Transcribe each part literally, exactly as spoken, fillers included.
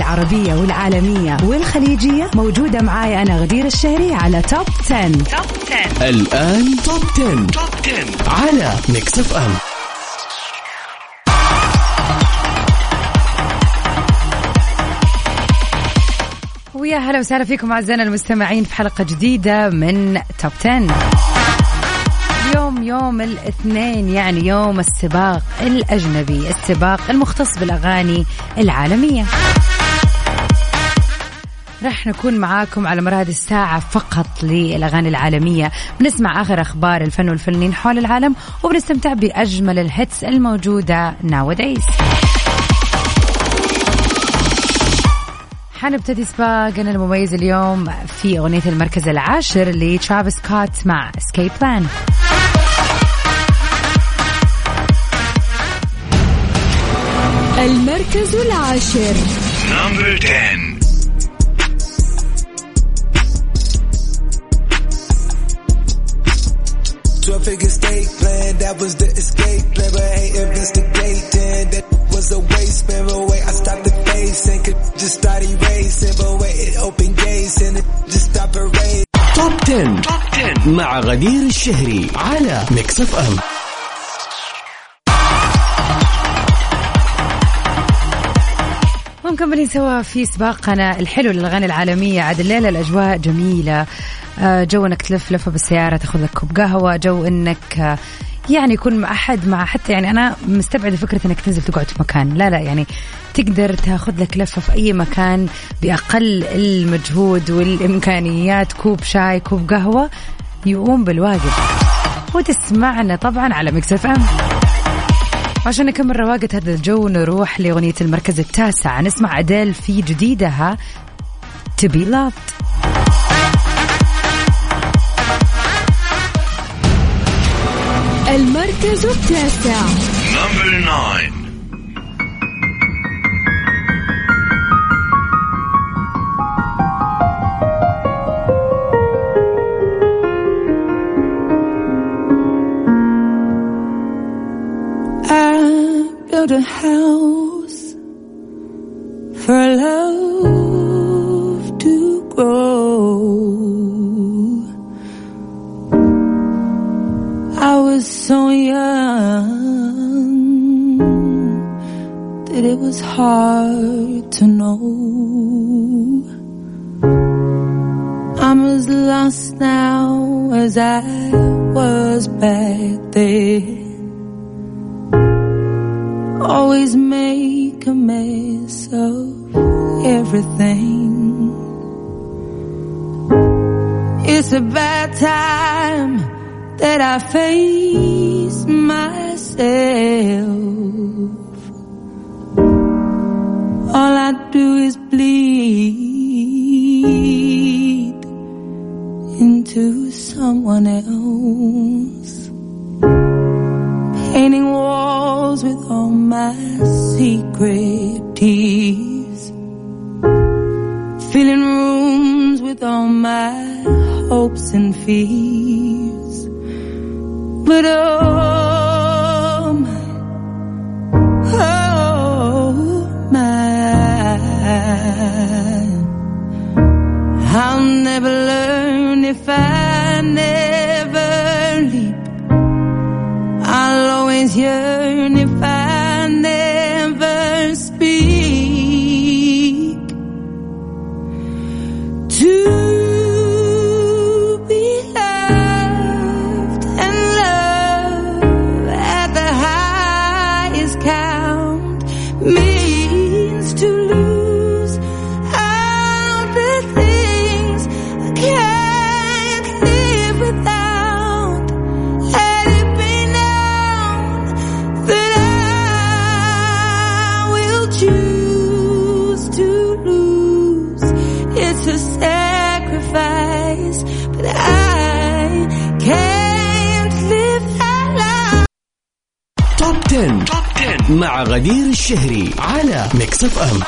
العربية والعالمية والخليجية موجودة معاي أنا غدير الشهري على توب عشرة. توب عشرة الآن توب عشرة توب عشرة على ميكس اف ام. ويا هلا وسهلا فيكم أعزائنا المستمعين في حلقة جديدة من توب عشرة. اليوم يوم الاثنين، يعني يوم السباق الأجنبي، السباق المختص بالأغاني العالمية. رح نكون معاكم على مر هذه الساعة فقط للأغاني العالمية، بنسمع آخر أخبار الفن والفنانين حول العالم، وبنستمتع بأجمل الهيتس الموجودة nowadays. حنبتدي سباقنا المميز اليوم في أغنية المركز العاشر لترافيس سكوت مع اسكيب بلان. المركز العاشر Number ten. twelve figure state plan, that was the escape plan, but hey, investigating, that was a waste, man, but wait, I stopped the face and could just start erasing, but wait, it opened gates and it just stopped erasing. توب عشرة توب عشرة مع غدير الشهري على ميكس اف ام. مكملين سوا في سباقنا الحلو للأغاني العالمية. عاد الليلة الأجواء جميلة، جو انك تلف لفة بالسيارة، تاخذ لك كوب قهوة، جو انك يعني يكون مع أحد، مع حتى يعني أنا مستبعدة فكرة انك تنزل تقعد في مكان، لا لا يعني تقدر تاخذ لك لفة في أي مكان بأقل المجهود والإمكانيات، كوب شاي كوب قهوة يقوم بالواجب، وتسمعنا طبعا على ميكس اف ام. عشان نكمل رواقة هذا الجو نروح لأغنية المركز التاسع، نسمع أديل في جديدها To Be Loved. المركز التاسع Number nine. Build a house for love to grow. I was so young that it was hard to know. I'm as lost now as I was back then. Always make a mess of everything. It's a bad time that I face myself. All I do is bleed into someone else. Painting walls with all my secret tears, filling rooms with all my hopes and fears. But oh my, oh my, I'll never learn if I never leap. I'll always yearn if I never speak. To be loved and love at the highest count means to lose all the things I can't live without. Let it be known that I will choose to lose. It's a sacrifice, but I can't live that life. توب عشرة توب عشرة مع غدير الشهري على ميكس اف ام.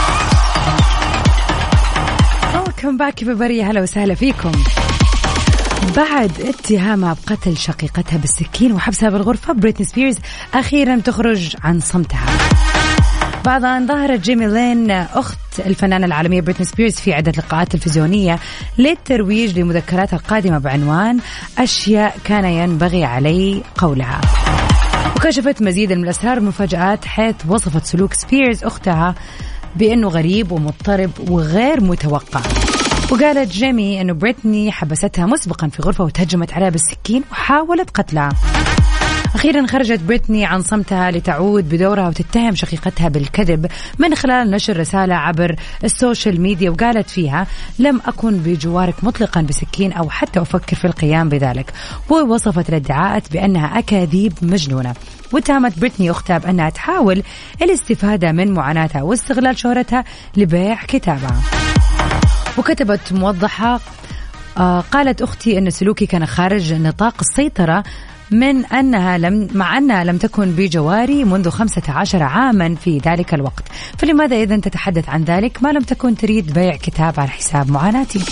Welcome back everybody، هلا وسهلا فيكم. بعد اتهامها بقتل شقيقتها بالسكين وحبسها بالغرفة، بريتني سبيرز أخيرا تخرج عن صمتها. بعد أن ظهرت جيمي لين أخت الفنانة العالمية بريتني سبيرز في عدة لقاءات تلفزيونية للترويج لمذكراتها القادمة بعنوان أشياء كان ينبغي علي قولها. وكشفت مزيد من الأسرار والمفاجآت، حيث وصفت سلوك سبيرز أختها بأنه غريب ومضطرب وغير متوقع. وقالت جيمي أنه بريتني حبستها مسبقا في غرفة وتهجمت عليها بالسكين وحاولت قتلها. أخيرا خرجت بريتني عن صمتها لتعود بدورها وتتهم شقيقتها بالكذب من خلال نشر رسالة عبر السوشيال ميديا، وقالت فيها: لم أكن بجوارك مطلقا بسكين أو حتى أفكر في القيام بذلك. ووصفت الادعاءات بأنها أكاذيب مجنونة، واتهمت بريتني أختها بأنها تحاول الاستفادة من معاناتها واستغلال شهرتها لبيع كتابها. وكتبت موضحة: آه قالت أختي أن سلوكي كان خارج نطاق السيطرة من أنها لم مع أنها لم تكن بجواري منذ خمسة عشر عاما في ذلك الوقت، فلماذا إذن تتحدث عن ذلك ما لم تكن تريد بيع كتاب على حساب معاناتي؟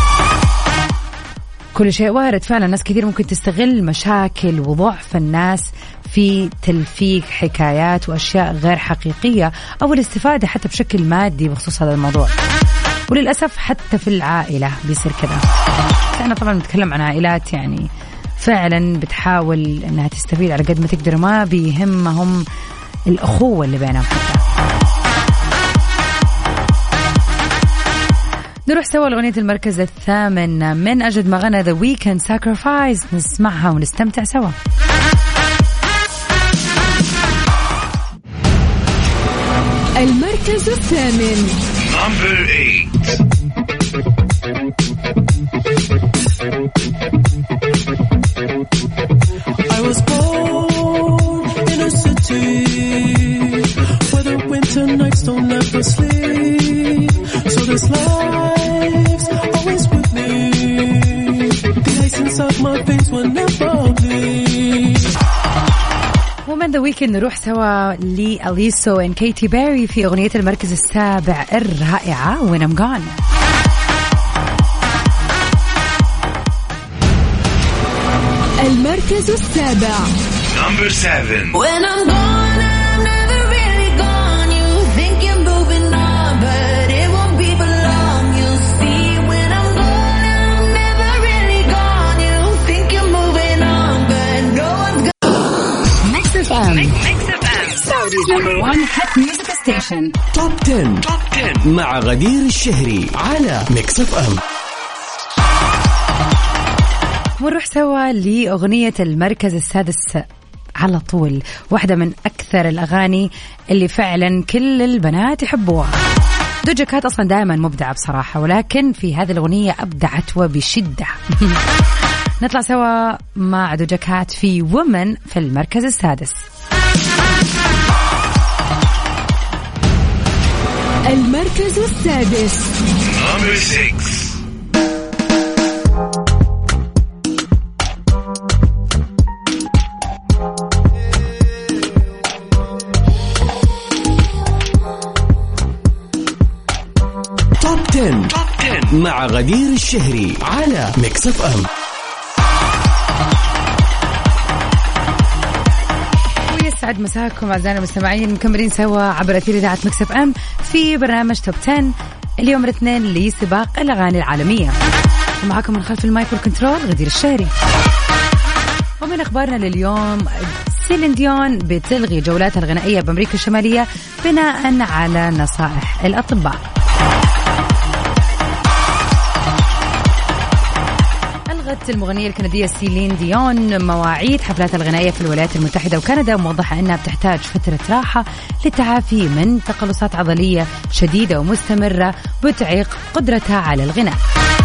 كل شيء وارد فعلا. ناس كثير ممكن تستغل مشاكل وضعف الناس في تلفيق حكايات وأشياء غير حقيقية أو الاستفادة حتى بشكل مادي بخصوص هذا الموضوع. وللأسف حتى في العائلة بيصير كذا. أنا طبعا بتكلم عن عائلات يعني فعلا بتحاول أنها تستفيد على قد ما تقدر، ما بيهمهم الأخوة اللي بينهم. نروح سوا لأغنية المركز الثامن من أجد ما غنى The Weeknd Sacrifice، نسمعها ونستمتع سوا. المركز الثامن. Number eight. I was born in a city where the winter nights don't ever sleep, so this life's always with me. The ice inside my veins will never bleed. ومن ذا ويكند نروح سوا لأليسو and كيتي بيري في أغنية المركز السابع الرائعة When I'm Gone. المركز السابع. Number seven. When I'm gone, I'm never really gone. You think you're moving on, but it won't be for long. You'll see when I'm gone, I'm never really gone. You think you're moving on, but no one's gone. Mix إف إم. Mix إف إم. Saudi's number one hit music station. Top ten. Top ten مع غدير الشهري على Mix إف إم. ونروح سوا لأغنية المركز السادس على طول، واحدة من أكثر الأغاني اللي فعلا كل البنات يحبوها. دوجا كات أصلا دائما مبدعة بصراحة، ولكن في هذه الأغنية أبدعت وبشدة. نطلع سوا مع دوجا كات في وومن في المركز السادس. المركز السادس. Number six. Top ten مع غدير الشهري على ميكس إف إم. ويسعد مساكم أعزائنا المستمعين، مكملين سوا عبر أثير إذاعة ميكس إف إم في برنامج توب عشرة اليوم الاثنين لسباق الأغاني العالمية، ومعكم من خلف المايك والكنترول غدير الشهري. ومن أخبارنا لليوم، سيلين ديون بتلغي جولاتها الغنائية بأمريكا الشمالية بناء على نصائح الأطباء. ألغت المغنية الكندية سيلين ديون مواعيد حفلاتها الغنائية في الولايات المتحدة وكندا، وموضحة أنها بتحتاج فترة راحة للتعافي من تقلصات عضلية شديدة ومستمرة بتعيق قدرتها على الغناء.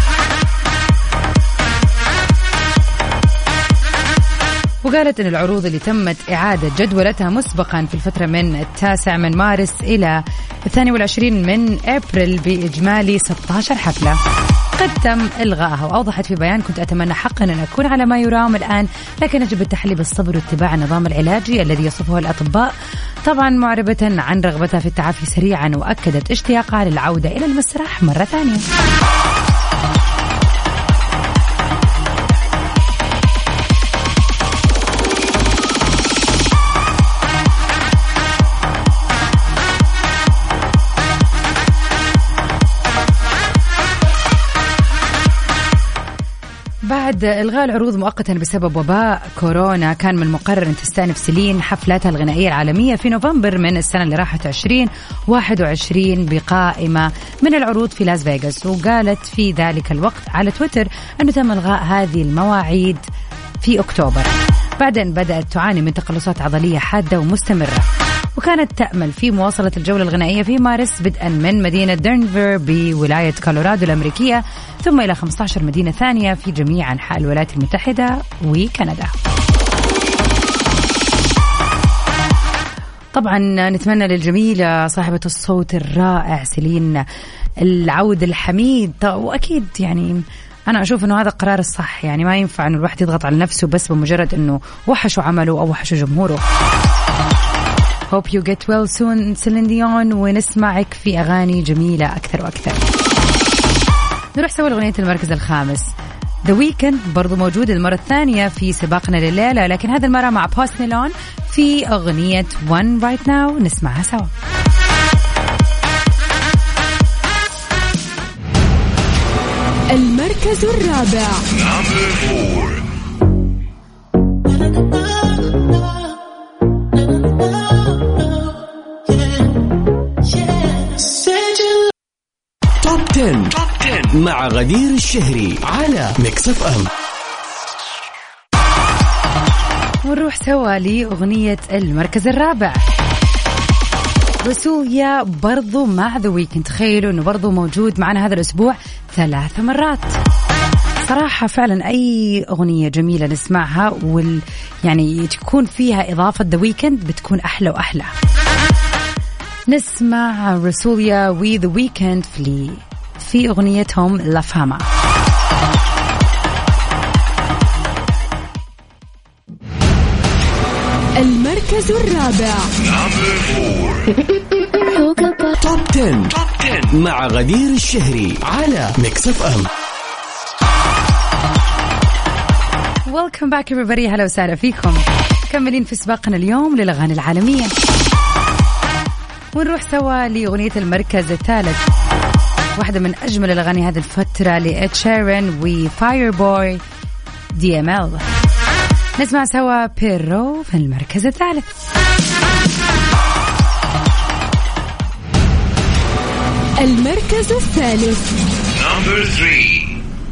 وقالت أن العروض اللي تمت إعادة جدولتها مسبقا في الفترة من التاسع من مارس إلى الثاني والعشرين من أبريل بإجمالي ستة عشر حفلة قد تم إلغائها. وأوضحت في بيان: كنت أتمنى حقا أن أكون على ما يرام الآن، لكن يجب التحلي بالصبر واتباع النظام العلاجي الذي يصفه الأطباء، طبعا معربة عن رغبتها في التعافي سريعا، وأكدت اشتياقها للعودة إلى المسرح مرة ثانية. بعد إلغاء العروض مؤقتا بسبب وباء كورونا، كان من المقرر أن تستأنف سيلين حفلاتها الغنائية العالمية في نوفمبر من السنة اللي راحت عشرين واحد وعشرين بقائمة من العروض في لاس فيغاس. وقالت في ذلك الوقت على تويتر أنه تم إلغاء هذه المواعيد في أكتوبر بعد أن بدأت تعاني من تقلصات عضلية حادة ومستمرة، وكانت تأمل في مواصلة الجولة الغنائية في مارس بدءا من مدينة دنفر بولاية كولورادو الأمريكية، ثم إلى خمسة عشر مدينة ثانية في جميع أنحاء الولايات المتحدة وكندا. طبعا نتمنى للجميلة صاحبة الصوت الرائع سيلين العود الحميد، وأكيد يعني أنا أشوف أنه هذا القرار الصح، يعني ما ينفع أنه الواحد يضغط على نفسه بس بمجرد أنه وحشوا عمله أو وحشوا جمهوره. Hope you get well soon سيلين ديون، ونسمعك في أغاني جميلة أكثر وأكثر. نروح سوا لأغنية المركز الخامس. The Weeknd برضو موجود المرة الثانية في سباقنا لليلة، لكن هذا المرة مع Post Malone في أغنية One Right Now، نسمعها سوا. المركز الرابع. توب عشرة مع غدير الشهري على ميكس اف ام. ونروح سوا لأغنية المركز الرابع. رسوليا برضو مع ذا ويكند. تخيلوا أنه برضو موجود معنا هذا الأسبوع ثلاث مرات. صراحة فعلا أي أغنية جميلة نسمعها وال يعني تكون فيها إضافة ذا ويكند بتكون أحلى وأحلى. نسمع رسوليا وذا ويكند في في أغنيتهم لا فاما. المركز الرابع. توب عشرة مع غدير الشهري على ميكس اف ام. Welcome back everybody. هلا وسهلا فيكم. كملين في سباقنا اليوم للأغاني العالمية، ونروح سوا لأغنية المركز الثالث، واحدة من أجمل الأغاني هذه الفترة لإد شيران وفاير بوي دي ام ال. نسمع سوا بيرو في المركز الثالث. المركز الثالث. Number three.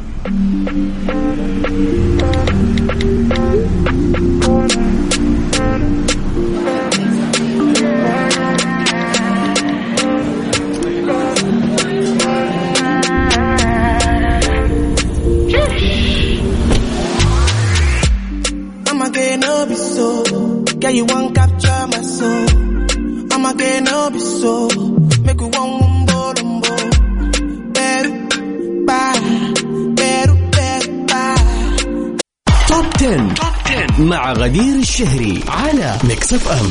I'ma get no be so. Girl, you won't capture my soul. I'ma get no be so. Make you want umbo umbo. Beru, bye. Beru, beru, bye. توب عشرة مع غدير الشهري على ميكس اف ام.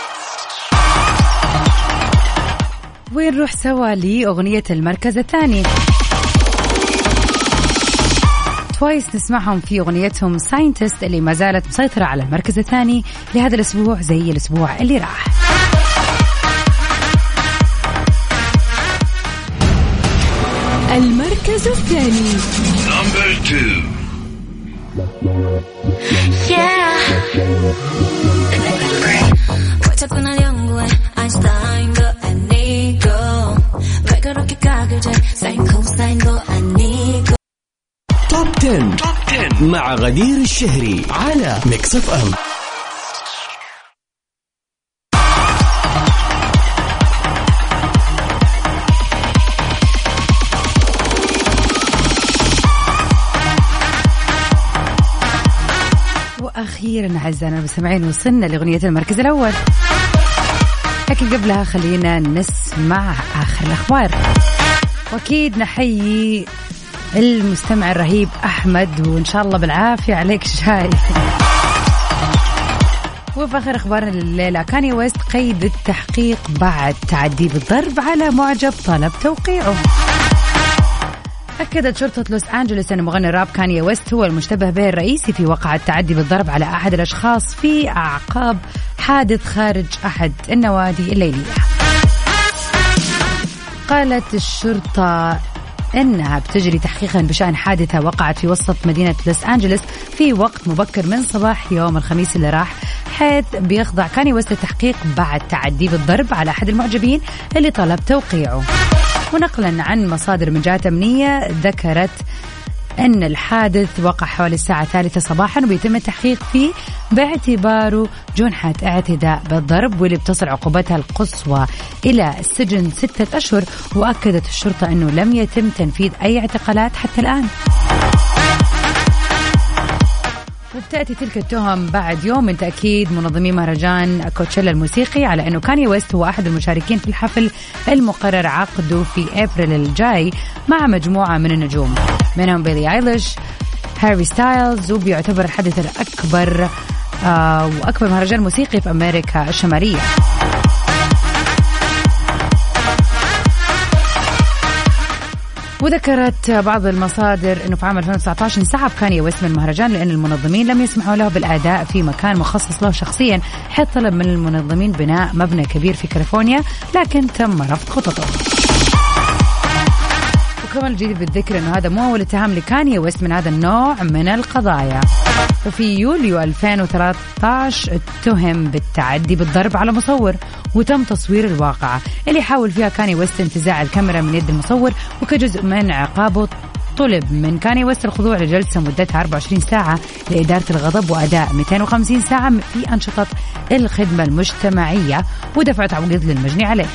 ونروح سوا لأغنية المركز الثاني. توايس نسمعهم في أغنيتهم ساينتست اللي ما زالت مسيطرة على المركز الثاني لهذا الأسبوع زي الأسبوع اللي راح. المركز الثاني. Number two. توب عشرة مع غدير الشهري على ميكس اف ام. وأخيرا أعزائنا المستمعين وصلنا لأغنية المركز الأول، لكن قبلها خلينا نسمع آخر الأخبار. وأكيد نحيي المستمع الرهيب أحمد، وإن شاء الله بالعافية عليك شاي. وفي آخر أخبارنا الليلة، كاني ويست قيد التحقيق بعد تعدي بالضرب على معجب طلب توقيعه. أكدت شرطة لوس أنجلوس أن مغني الراب كاني ويست هو المشتبه به الرئيسي في وقعة التعدي بالضرب على أحد الأشخاص في أعقاب حادث خارج أحد النوادي الليلية. قالت الشرطة أنها بتجري تحقيقا بشأن حادثة وقعت في وسط مدينة لوس أنجلوس في وقت مبكر من صباح يوم الخميس اللي راح، حيث بيخضع كاني ويست التحقيق بعد تعدي بالضرب على أحد المعجبين اللي طلب توقيعه. ونقلا عن مصادر من جهات أمنية ذكرت أن الحادث وقع حوالي الساعة الثالثة صباحا وبيتم التحقيق فيه باعتباره جنحة اعتداء بالضرب، واللي بتصل عقوبتها القصوى إلى السجن ستة أشهر. وأكدت الشرطة أنه لم يتم تنفيذ أي اعتقالات حتى الآن. وبتأتي تلك التهم بعد يوم من تأكيد منظمي مهرجان كوتشيلا الموسيقي على أنه كاني ويست هو أحد المشاركين في الحفل المقرر عقده في أبريل الجاي مع مجموعة من النجوم، منهم بيلي آيليش، هاري ستايلز، وبيعتبر الحدث الأكبر آه وأكبر مهرجان موسيقي في أمريكا الشمالية. وذكرت بعض المصادر أنه في عام ألفين وتسعة عشر انسحب كاني ويست من المهرجان لأن المنظمين لم يسمحوا له بالأداء في مكان مخصص له شخصيا، حيث طلب من المنظمين بناء مبنى كبير في كاليفورنيا لكن تم رفض خططه. وكمان الجديد بالذكر أنه هذا مو أول اتهام لكاني ويست من هذا النوع من القضايا. وفي يوليو ألفين وثلاثة عشر اتهم بالتعدي بالضرب على مصور، وتم تصوير الواقعة اللي حاول فيها كاني ويست انتزاع الكاميرا من يد المصور، وكجزء من عقابه طلب من كاني ويست الخضوع لجلسة مدتها أربعة وعشرين ساعة لإدارة الغضب وأداء مئتين وخمسين ساعة في أنشطة الخدمة المجتمعية، ودفع تعويض للمجني عليه.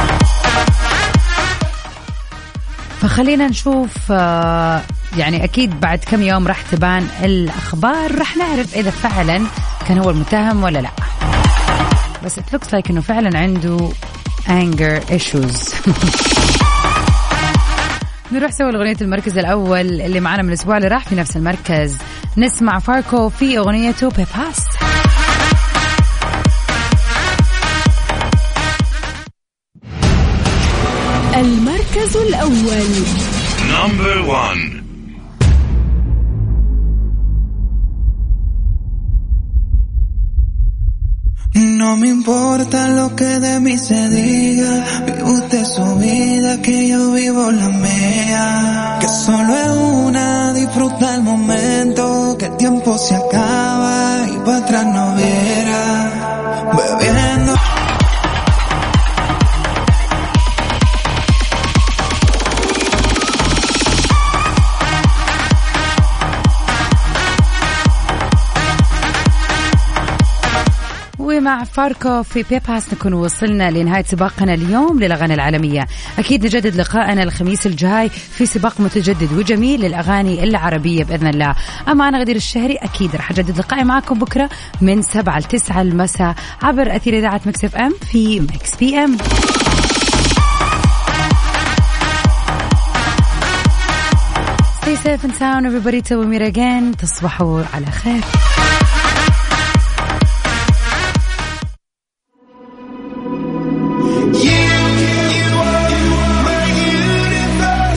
فخلينا نشوف يعني أكيد بعد كم يوم راح تبان الأخبار، راح نعرف إذا فعلا كان هو المتهم ولا لا. بس it looks like إنه فعلا عنده anger issues. نروح سوى الأغنية المركز الأول اللي معنا من الأسبوع اللي راح في نفس المركز. نسمع فاركو في أغنيته بيباس. المركز الأول. Number one. No me importa lo que de mí se diga, vive usted su vida, que yo vivo la mía, que solo es una, disfruta el momento, que el tiempo se acaba y para atrás no verá, bebiendo. مع فاركو في بيباس نكون وصلنا لنهاية سباقنا اليوم للأغاني العالمية. أكيد نجدد لقاءنا الخميس الجاي في سباق متجدد وجميل للأغاني العربية بإذن الله. أما أنا غدير الشهري أكيد رح أجدد لقائي معكم بكرة من سبعة لتسعة المساء عبر أثير إذاعة ميكس اف ام في ميكس بي ام. Stay safe and sound everybody till we meet again. تصبحوا على خير.